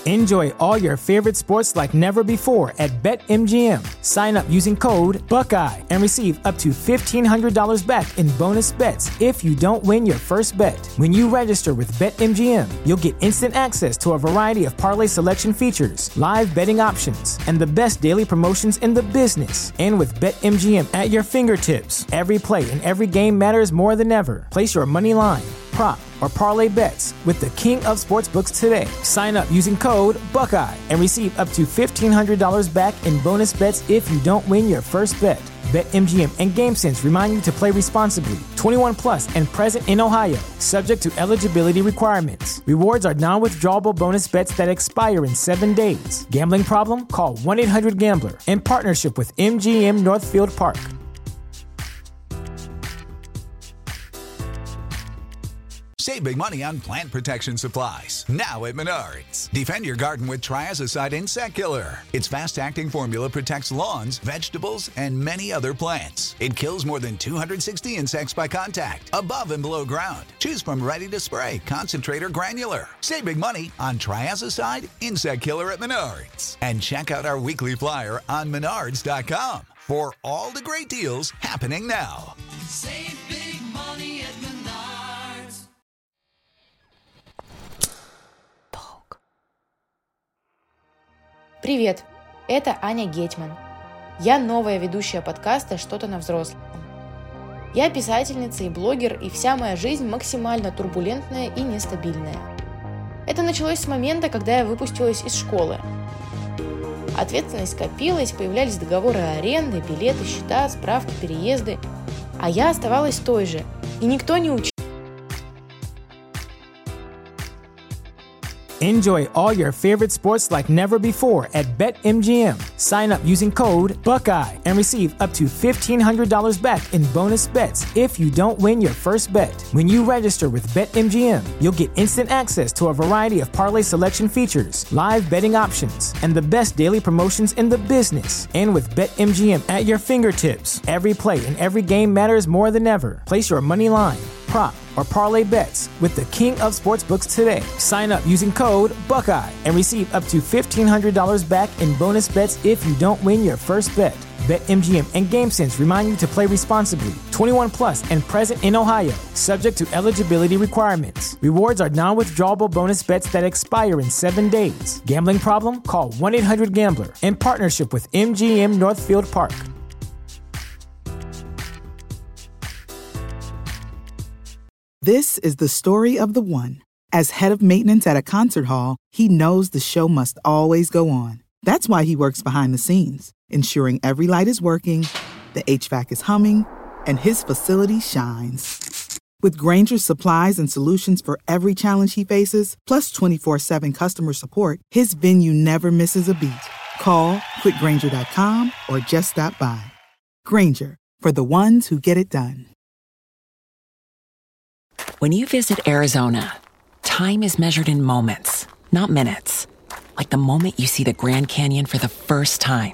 Enjoy all your favorite sports like never before at BetMGM. Sign up using code Buckeye and receive up to $1,500 back in bonus bets if you don't win your first bet. When you register with BetMGM, you'll get instant access to a variety of parlay selection features, live betting options, and the best daily promotions in the business. And with BetMGM at your fingertips, every play and every game matters more than ever. Place your money line, prop, or parlay bets with the king of sportsbooks today. Sign up using code Buckeye and receive up to $1,500 back in bonus bets if you don't win your first bet. BetMGM and GameSense remind you to play responsibly. 21 plus and present in Ohio, subject to eligibility requirements. Rewards are non-withdrawable bonus bets that expire in 7 days. Gambling problem? Call 1-800-GAMBLER. In partnership with MGM Northfield Park. Save big money on plant protection supplies, now at Menards. Defend your garden with Triazicide Insect Killer. Its fast-acting formula protects lawns, vegetables, and many other plants. It kills more than 260 insects by contact, above and below ground. Choose from ready to spray, concentrate, or granular. Save big money on Triazicide Insect Killer at Menards. And check out our weekly flyer on Menards.com for all the great deals happening now. Save big money at Menards. Привет, это Аня Гетьман. Я новая ведущая подкаста «Что-то на взрослом». Я писательница и блогер, и вся моя жизнь максимально турбулентная и нестабильная. Это началось с момента, когда я выпустилась из школы. Ответственность копилась, появлялись договоры аренды, билеты, счета, справки, переезды. А я оставалась той же, и никто не учил. Enjoy all your favorite sports like never before at BetMGM. Sign up using code Buckeye and receive up to $1,500 back in bonus bets if you don't win your first bet. When you register with BetMGM, you'll get instant access to a variety of parlay selection features, live betting options, and the best daily promotions in the business. And with BetMGM at your fingertips, every play and every game matters more than ever. Place your money line, prop, or parlay bets with the king of sportsbooks today. Sign up using code Buckeye and receive up to $1,500 back in bonus bets if you don't win your first bet. BetMGM and GameSense remind you to play responsibly. 21 plus and present in Ohio, subject to eligibility requirements. Rewards are non-withdrawable bonus bets that expire in 7 days. Gambling problem? Call 1-800-GAMBLER. In partnership with MGM Northfield Park. This is the story of the one. As head of maintenance at a concert hall, he knows the show must always go on. That's why he works behind the scenes, ensuring every light is working, the HVAC is humming, and his facility shines. With Grainger's supplies and solutions for every challenge he faces, plus 24/7 customer support, his venue never misses a beat. Call quickgrainger.com or just stop by. Grainger, for the ones who get it done. When you visit Arizona, time is measured in moments, not minutes. Like the moment you see the Grand Canyon for the first time.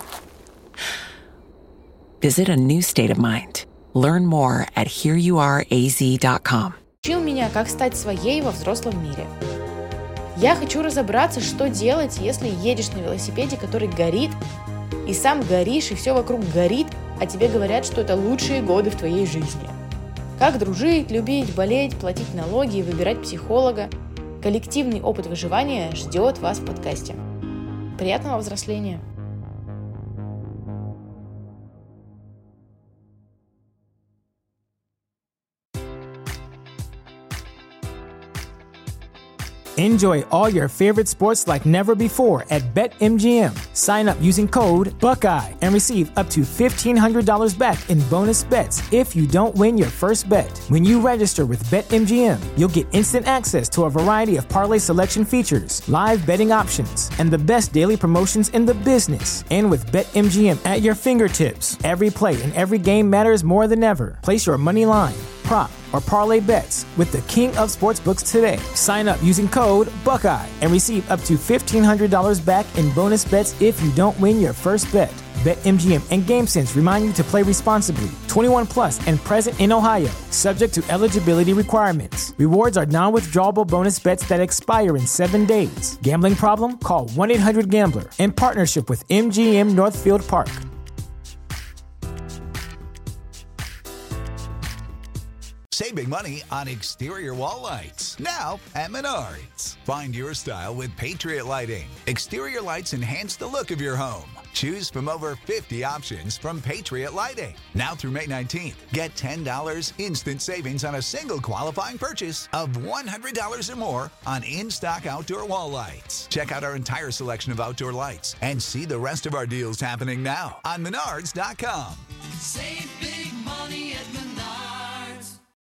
Visit a new state of mind. Learn more at hereyouareaz.com. Учил меня, как стать своей во взрослом мире. Я хочу разобраться, что делать, если едешь на велосипеде, который горит, и сам горишь, и все вокруг горит, а тебе говорят, что это лучшие годы в твоей жизни. Как дружить, любить, болеть, платить налоги и выбирать психолога. Коллективный опыт выживания ждет вас в подкасте. Приятного взросления! Enjoy all your favorite sports like never before at BetMGM. Sign up using code Buckeye and receive up to $1,500 back in bonus bets if you don't win your first bet. When you register with BetMGM, you'll get instant access to a variety of parlay selection features, live betting options, and the best daily promotions in the business. And with BetMGM at your fingertips, every play and every game matters more than ever. Place your money line, prop, or parlay bets with the king of sportsbooks today. Sign up using code Buckeye and receive up to $1,500 back in bonus bets if you don't win your first bet. BetMGM and GameSense remind you to play responsibly. 21 plus and present in Ohio, subject to eligibility requirements. Rewards are non-withdrawable bonus bets that expire in 7 days. Gambling problem? Call 1-800-GAMBLER in partnership with MGM Northfield Park. Save big money on exterior wall lights. Now at Menards. Find your style with Patriot Lighting. Exterior lights enhance the look of your home. Choose from over 50 options from Patriot Lighting. Now through May 19th, get $10 instant savings on a single qualifying purchase of $100 or more on in-stock outdoor wall lights. Check out our entire selection of outdoor lights and see the rest of our deals happening now on Menards.com. Save